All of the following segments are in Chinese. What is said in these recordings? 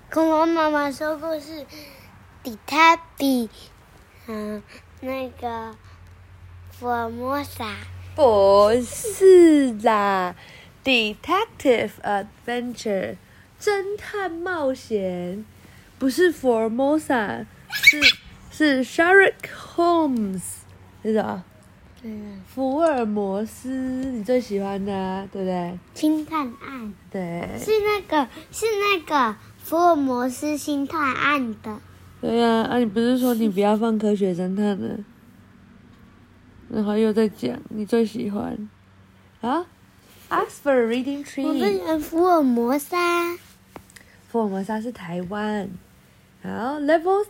恐龙妈妈说故事，比它比那个福尔摩沙。 不是啦 ，Detective Adventure 侦探冒险，不是 Formosa， 是 Sherlock Holmes， 是什么？福尔摩斯，你最喜欢的、啊，对不对？ 星探案。 对。 是那个福尔摩斯星探案的。 对呀、啊，你不是说你不要放科学侦探呢？然后又在讲你最喜欢啊 ？Ask for a reading 我 tree。 最喜欢福尔摩沙。 福尔摩沙是台湾。好 ，Level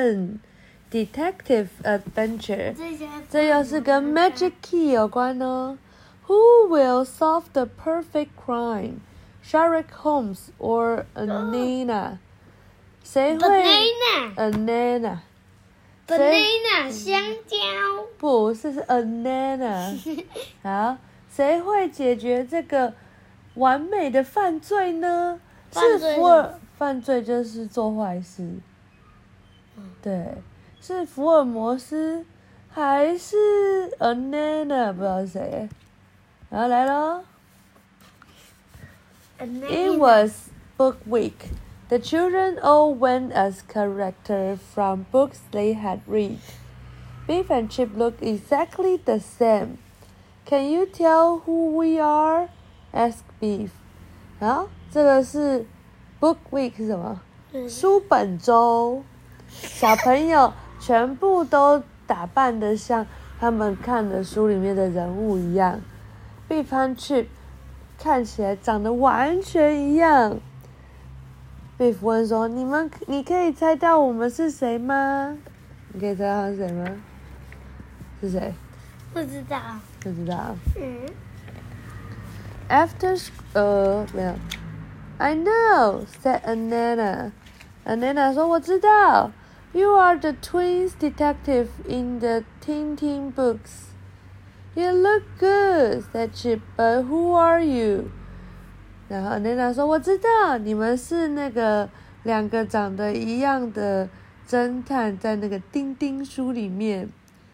7。Detective Adventure， 这又是跟 Magic Key 有关哦。Who will solve the perfect crime? Sherlock Holmes or Anana？ 谁会 ？Anana。 banana 香蕉。 不是 Anana。好，谁会解决这个完美的犯罪呢？犯罪就是做坏事。对。是福尔摩斯还是 Anana？ 不知道是谁。然后来咯。It was book week. The children all went as characters from books they had read. Beef and Chip look exactly the same. Can you tell who we are? Asked Beef. 好，这个是 book week 是什么？书本周。小朋友全部都打扮得像他们看的书里面的人物一样。Beef和 Chip 看起来长得完全一样。Beef 问说：“你可以猜到我们是谁吗？你可以猜到他是谁吗？是谁？ 不知道。 不知道。After没有。I know said Anana. Anana 说我知道。You are the twins detective in the Tintin books. You look good, said Chip, but who are you? 然后 Anana 说我知道，你们是那个两个长得一样的侦探，在那个丁丁书里面。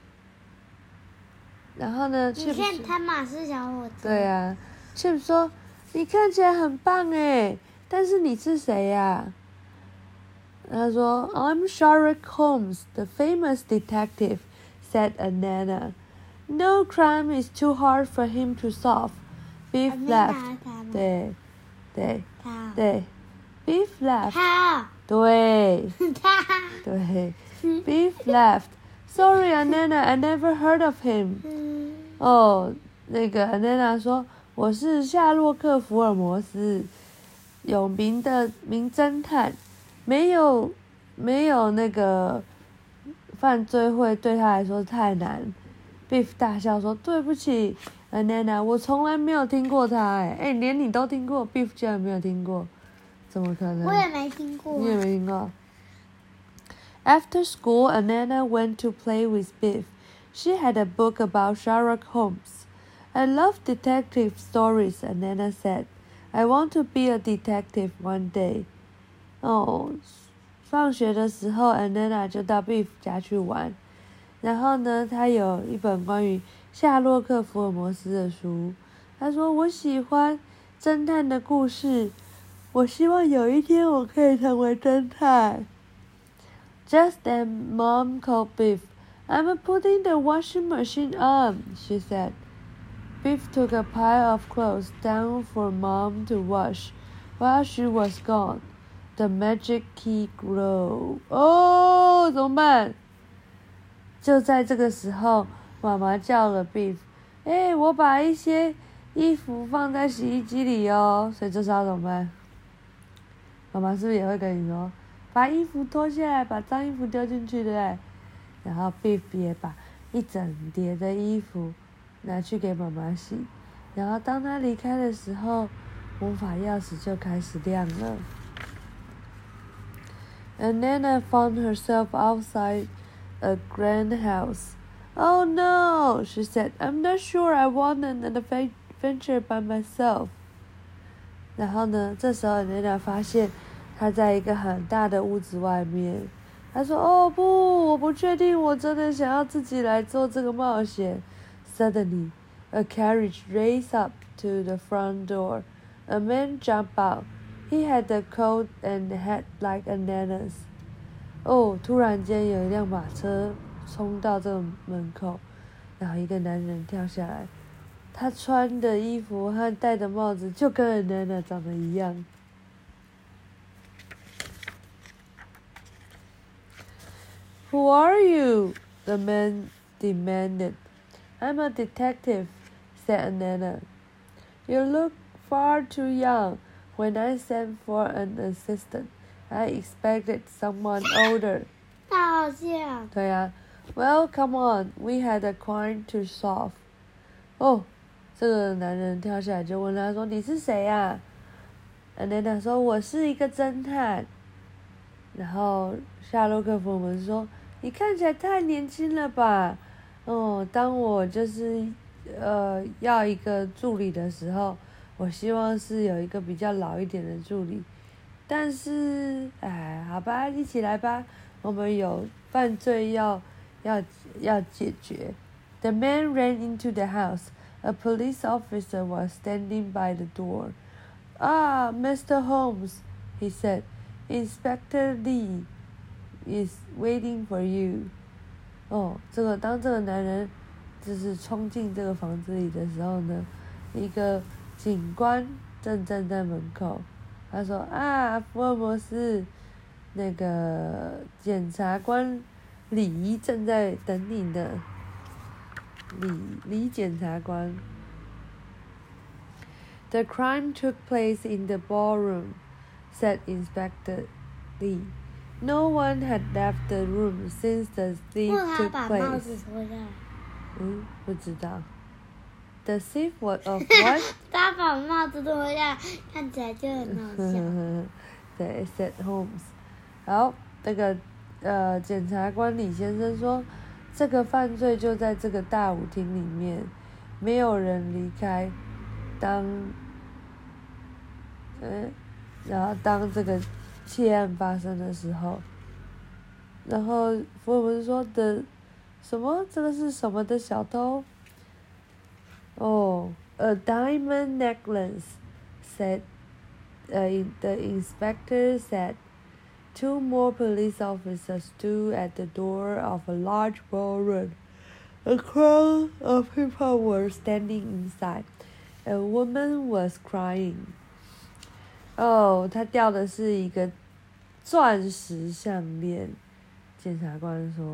然后呢 ，Chip 你看他马是小伙子。 对啊 ，Chip 说你看起来很棒诶，但是你是谁呀？他说 I'm Sherlock Holmes, the famous detective, said Anana. No crime is too hard for him to solve. Beef laughed. 对 Beef laughed. 他。 对他。 对 Beef laughed. Sorry, Anana, I never heard of him. 那个 Anana 说我是夏洛克·福尔摩斯，有名的名侦探。没有那个犯罪会对他来说太难。Beef 大笑说：“对不起 ，Anana， 我从来没有听过他。连你都听过 ，Beef 居然没有听过，怎么可能？” 我也没听过。 你也没听过。After school, Anana went to play with Beef. She had a book about Sherlock Holmes. I love detective stories, Anana said. I want to be a detective one day. 放学的时候 Anana 就到 Beef 家去玩。然后呢，他有一本关于夏洛克·福尔摩斯的书。他说：“我喜欢侦探的故事，我希望有一天我可以成为侦探。” Just then, Mom called Beef. I'm putting the washing machine on, she said. Beef took a pile of clothes down for Mom to wash. While she was gone, the magic key grew. 怎么办？就在这个时候，妈妈叫了 Beef。我把一些衣服放在洗衣机里哦。所以这时候怎么办？妈妈是不是也会跟你说，把衣服脱下来，把脏衣服丢进去，对不对？然后 Beef 也把一整叠的衣服拿去给妈妈洗。然后当他离开的时候，魔法钥匙就开始亮了。Anana found herself outside a grand house. Oh no, she said. I'm not sure I want an adventure by myself. 然后呢，这时候 Anana 发现他在一个很大的屋子外面。他说：“哦不，我不确定，我真的想要自己来做这个冒险。” Suddenly, a carriage raced up to the front door. A man jumped out. He had a coat and hat like Anana's. 哦，突然间有一辆马车冲到这个门口，然后一个男人跳下来，他穿的衣服和戴的帽子就跟 Anana 长得一样。Who are you? The man demanded. I'm a detective, said Anana. You look far too young. When I sent for an assistant, I expected someone older. 他好像。 对呀。Well, come on, we had a crime to solve. 哦，这个男人跳下来就问他说：“你是谁呀？”Anana 说：“我是一个侦探。”然后夏洛克·福尔摩斯说：“你看起来太年轻了吧？哦，当我就是要一个助理的时候，我希望是有一个比较老一点的助理。但是，哎，好吧，一起来吧，我们有犯罪要解决。” The man ran into the house. A police officer was standing by the door. "Ah, Mr. Holmes," he said. "Inspector Lee is waiting for you." 哦，当这个男人就是冲进这个房子里的时候呢，一个警官正站在门口。他说：“啊，福尔摩斯，那个检察官李正在等你呢。”李检察官。The crime took place in the ballroom, said Inspector Lee. No one had left the room since the thief took 他把帽 place. 子脱下来。 不知道。The thief was of what? 他把帽子脱下来，看起来就很好笑。 对 ，said Holmes. 好，那个检察官李先生说，这个犯罪就在这个大舞厅里面，没有人离开。然后当这个窃案发生的时候，然后福尔摩斯说的什么？这个是什么的小偷？哦，a diamond necklace, said the inspector said. Two more police officers stood at the door of a large ballroom. A crowd of people were standing inside. A woman was crying. 哦，他掉的是一个钻石项链。检察官说，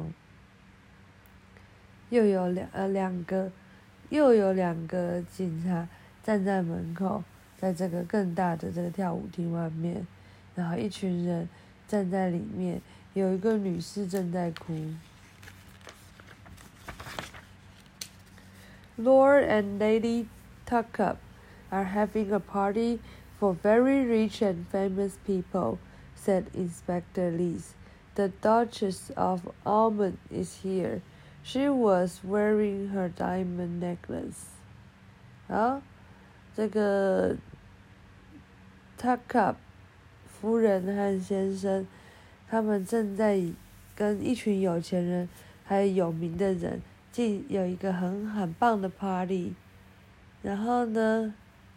又有两个警察站在门口，在这个更大的这个跳舞厅外面，然后一群人站在里面，有一个女士正在哭。Lord and Lady Tuckup are having a party for very rich and famous people, said Inspector Lee. The Duchess of Almond is here. She was wearing her diamond necklace. 好，这个 Tuckup 夫人和先生，他们正在跟一群有钱人还有有名的人有一个很棒的 party。然后呢，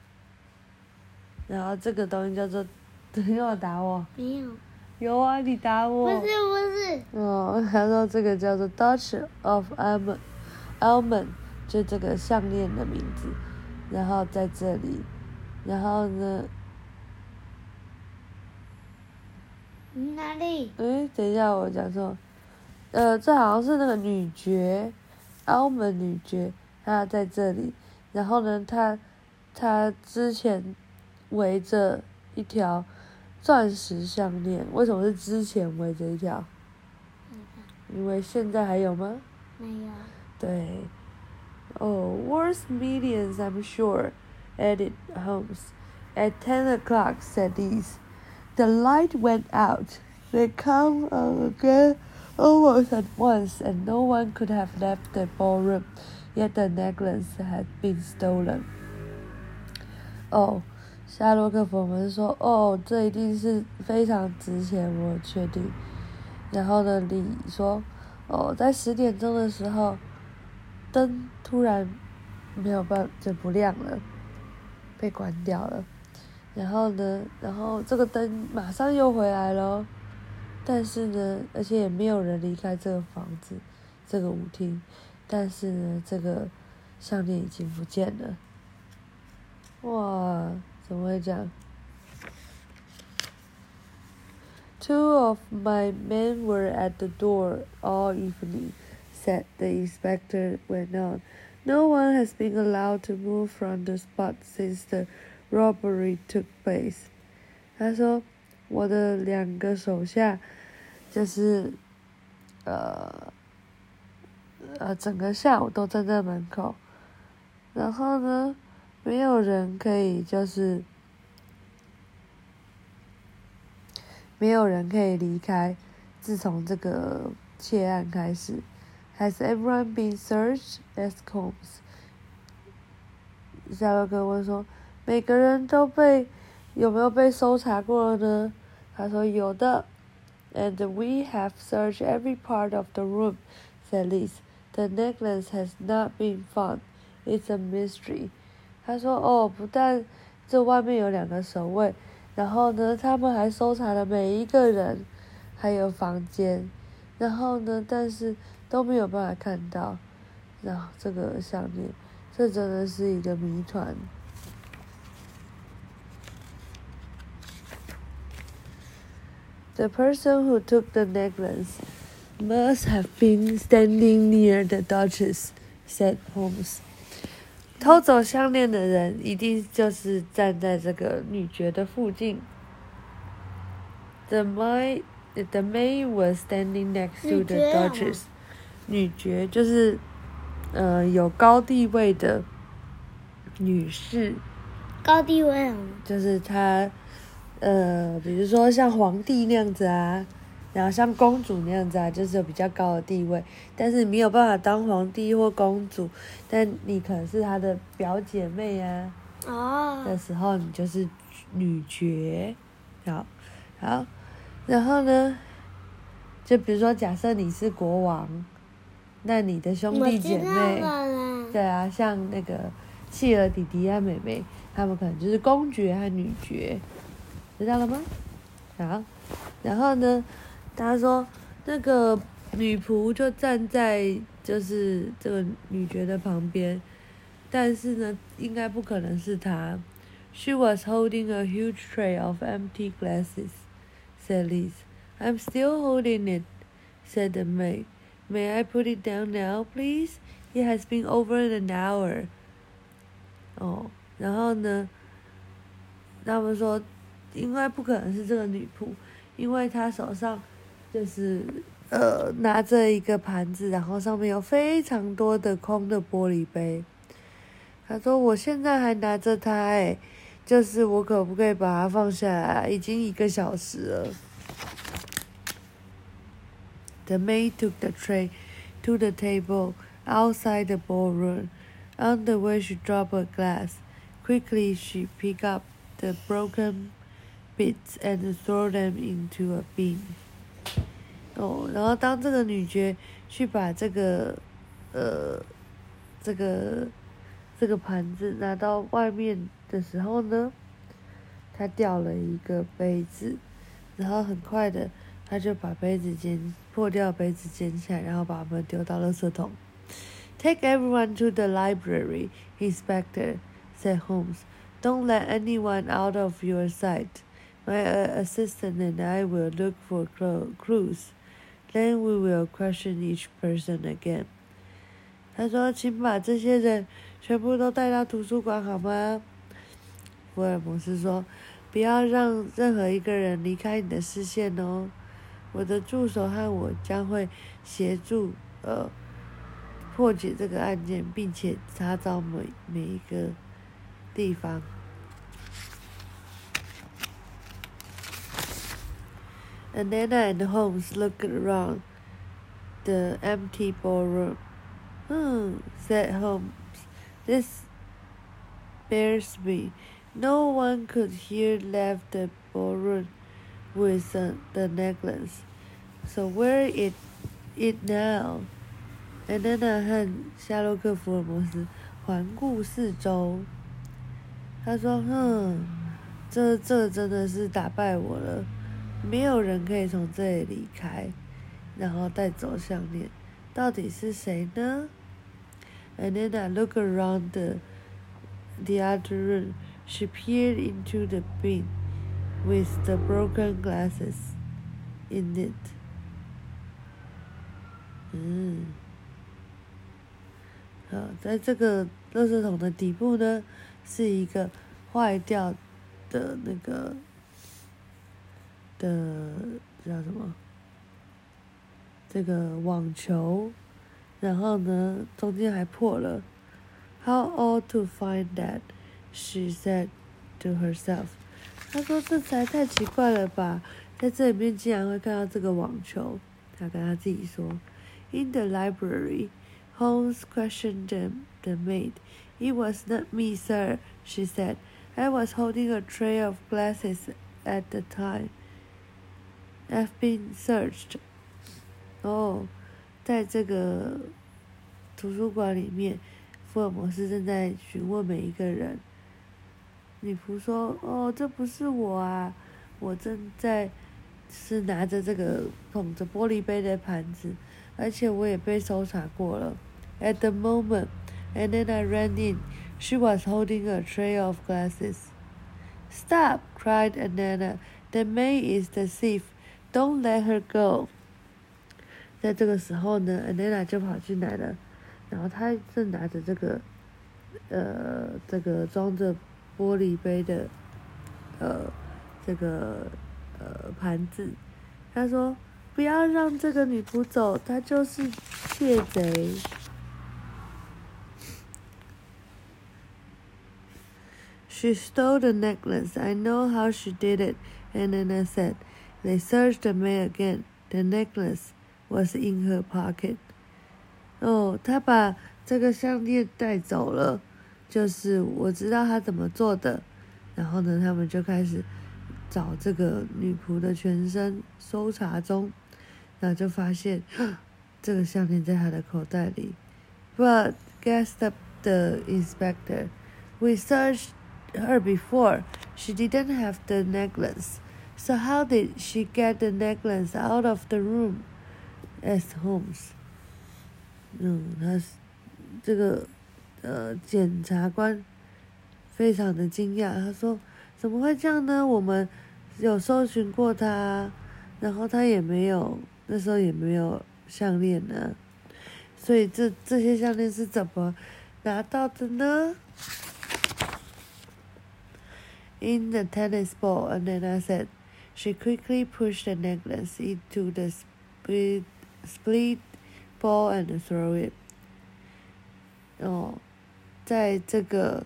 然后这个东西叫做，你干嘛打我？ 没有。 有啊，你打我。 不是。 哦，他说这个叫做 Duchess of Almond， 就这个项链的名字。然后在这里，然后呢？ 哪里？ 等一下，我讲错。这好像是那个女爵，Almond女爵，她在这里。然后呢，她之前围着一条钻石项链，为什么是之前围着一条？因为现在还有吗？ 没有。 对。Oh, worth millions, I'm sure, added Holmes. At 10 o'clock, said Lees. The light went out. They come again almost at once, and no one could have left the ballroom, yet the necklace had been stolen. 哦， 夏洛克·福尔摩斯说：“哦，这一定是非常值钱，我确定。”然后呢，李说：“哦，在10点钟的时候，灯突然没有办法就不亮了，被关掉了。然后呢，这个灯马上又回来了，但是呢，而且也没有人离开这个房子，这个舞厅。但是呢，这个项链已经不见了。哇！”怎么会这样 ？Two of my men were at the door all evening, said the inspector went on. No one has been allowed to move from the spot since the robbery took place. 他说，我的2个手下就是整个下午都站在门口，然后呢，没有人可以离开。自从这个窃案开始 ，Has everyone been searched? asked Holmes. 夏洛克问说：“每个人有没有被搜查过呢？”他说：“有的。”And we have searched every part of the room, said Liz. The necklace has not been found. It's a mystery. 他说：“哦，不但这外面有2个守卫，然后呢，他们还搜查了每一个人，还有房间，然后呢，但是都没有办法看到。然后这个项链，这真的是一个谜团。” The person who took the necklace must have been standing near the Duchess, said Holmes. 偷走项链的人一定就是站在这个女爵的附近。The maid was standing next to the Duchess. 女爵就是有高地位的女士。 高地位什么？ 就是她比如说像皇帝那样子啊，然后像公主那样子啊，就是有比较高的地位，但是你没有办法当皇帝或公主，但你可能是她的表姐妹啊。的时候，你就是女爵。好，然后呢，就比如说，假设你是国王，那你的兄弟姐妹，对啊，像那个契尔弟弟和妹妹，他们可能就是公爵和女爵。知道了吗？好，然后呢，他说那个女仆就站在就是这个女爵的旁边，但是呢，应该不可能是她。She was holding a huge tray of empty glasses, said Liz. I'm still holding it, said the maid. May I put it down now, please? It has been over an hour. 哦，然后呢，他们说。应该不可能是这个女仆，因为她手上就是拿着一个盘子，然后上面有非常多的空的玻璃杯。她说：“我现在还拿着它，就是我可不可以把它放下来？已经1个小时了。” The maid took the tray to the table outside the ballroom. On the way, she dropped a glass. Quickly, she picked up the broken bits and throw them into a bin. 然后当这个女爵去把这个盘子拿到外面的时候呢，她掉了一个杯子，然后很快的，她就把破掉的杯子捡起来，然后把它们丢到垃圾桶。Take everyone to the library, Inspector, said Holmes. Don't let anyone out of your sight. My assistant and I will look for clues. Then we will question each person again. 他说：“请把这些人全部都带到图书馆好吗？”福尔摩斯说：“不要让任何一个人离开你的视线哦。我的助手和我将会协助破解这个案件，并且查找每一个地方。” Anna and Holmes looked around the empty ballroom. Said Holmes. This bears me. No one could hear left the ballroom with the necklace. So where is it now? Anna 和夏洛克·福尔摩斯环顾四周。他说：“这真的是打败我了，没有人可以从这里离开，然后带走项链，到底是谁呢？” And then I looked around the other room. She peered into the bin with the broken glasses in it. 好，在这个垃圾桶的底部呢，是一个坏掉的那个的叫什么？这个网球，然后呢，中间还破了。How odd to find that, she said to herself. 她说这才太奇怪了吧，在这里面竟然会看到这个网球。她跟她自己说。In the library, Holmes questioned the maid. It was not me, sir, she said. I was holding a tray of glasses at the time. I've been searched. 在这个图书馆里面，福尔摩斯正在询问每一个人。女仆说：“这不是我啊，我正在是拿着这个捧着玻璃杯的盘子，而且我也被搜查过了。” At the moment, and then I ran in. She was holding a tray of glasses. "Stop!" cried Anna. "The maid is the thief. Don't let her go." 在这个时候呢 ，Anna 就跑进来了，然后她正拿着这个装着玻璃杯的盘子。她说：“不要让这个女仆走，她就是窃贼。” She stole the necklace. I know how she did it, Anna said. They searched the maid again. The necklace was in her pocket. 她把这个项链带走了，就是我知道她怎么做的。然后呢，他们就开始找这个女仆的全身，搜查中，然后就发现这个项链在她的口袋里。But gasped up the inspector, we searched her before. She didn't have the necklace. So how did she get the necklace out of the room? Asked Holmes. 他这个检察官非常的惊讶，他说：“怎么会这样呢？我们有搜寻过她，然后她也没有，那时候也没有项链呢。所以这些项链是怎么拿到的呢？”In the tennis ball, Anna said. She quickly pushed the necklace into the split ball and threw it. 在这个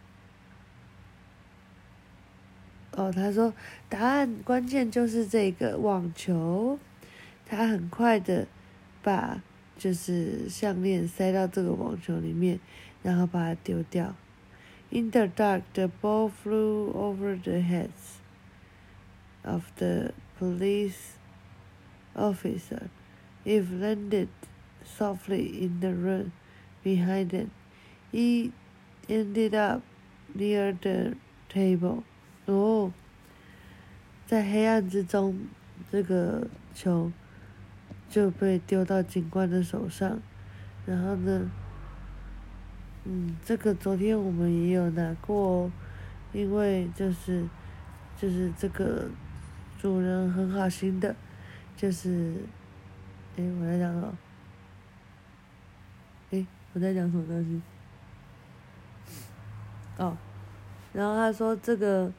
他说答案关键就是这个网球。他很快的把就是项链塞到这个网球里面，然后把它丢掉。In the dark, the ball flew over the heads of the police officer. It landed softly in the room behind them. It ended up near the table. 在黑暗之中，这个球就被丢到警官的手上。然后呢，这个昨天我们也有拿过因为就是这个主人很好心的，就是我在讲什么？我在讲什么东西？然后他说这个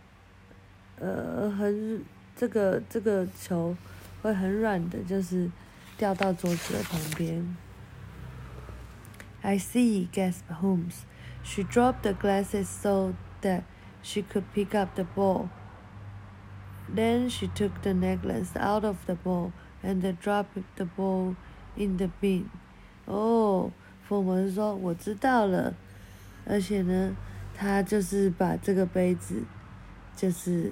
这个球会很软的，就是掉到桌子的旁边。I see, gasped Holmes. She dropped the glasses so that she could pick up the ball. Then she took the necklace out of the ball and dropped the ball in the bin. 福尔摩斯说：“我知道了。”而且呢， 他就是把这个杯子，就是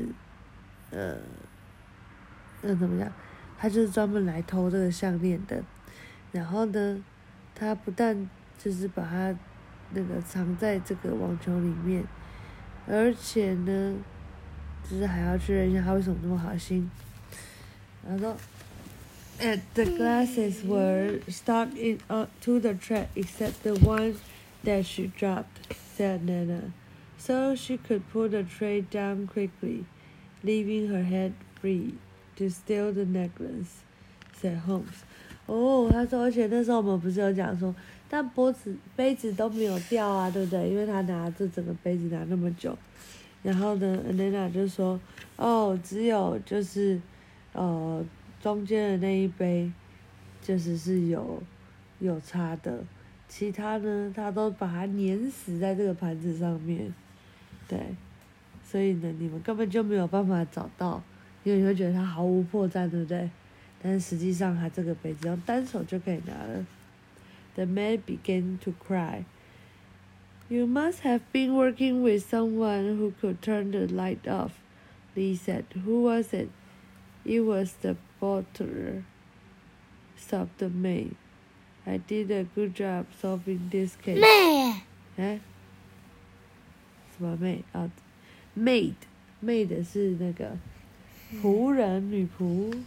那怎么讲？他就是专门来偷这个项链的。然后呢，他不但就是把它那个藏在这个网球里面，而且呢，就是还要确认一下他为什么这么好心。然后说 And the glasses were stuck to the track except the one that she dropped, said Nana, so she could put the tray down quickly, leaving her head free to steal the necklace, said Holmes. 他说，而且那时候我们不是有讲说，但杯子都没有掉啊，对不对？因为他拿这整个杯子拿那么久。然后呢 ，Nana 就说，只有就是中间的那一杯，是有差的，其他呢，他都把它碾死在这个盘子上面，对，所以呢，你们根本就没有办法找到，因为你会觉得它毫无破绽，对不对？但是实际上，它这个杯子用单手就可以拿了。The man began to cry. You must have been working with someone who could turn the light off, Lee said. Who was it? It was the butler, sobbed the maid. I did a good job solving this case. 妹， 什么maid？maid 是那个仆人、女仆。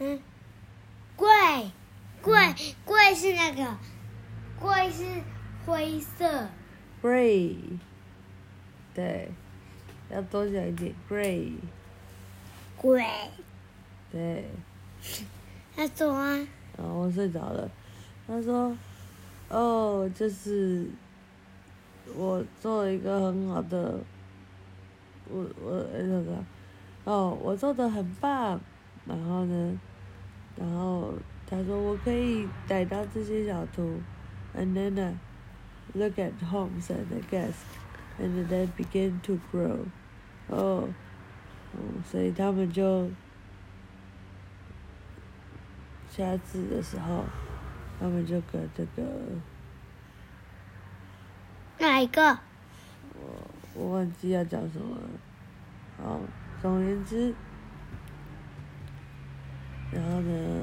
贵是那个，贵是灰色。 Gray， 对，要多讲一点 Gray。 贵。 对。 他说啊。 我睡着了。他说，就是我做了一个很好的，我做的很棒。然后他说我可以逮到这些小偷。And then look at Holmes and the guest, and then began to grow. 所以他们就下次的时候，他们就跟这个哪一个？ 我忘记要讲什么了。好，总而言之，然后呢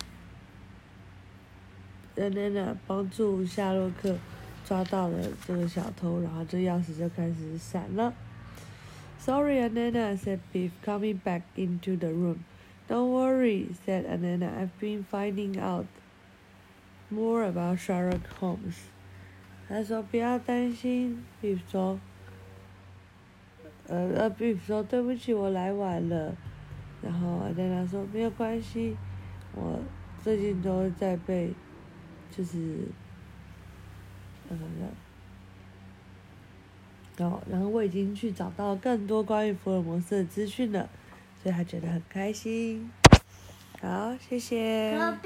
，Nana 帮助夏洛克抓到了这个小偷，然后这钥匙就开始闪了。Sorry, Nana, said Biff, coming back into the room. Don't worry, said Nana. I've been finding out more about Sherlock Holmes. 他说不要担心 ，Biff 说，Biff 说对不起，我来晚了。然后 Nana 说没有关系，我最近都在被，然后我已经去找到更多关于福尔摩斯的资讯了，所以他觉得很开心。好，谢谢。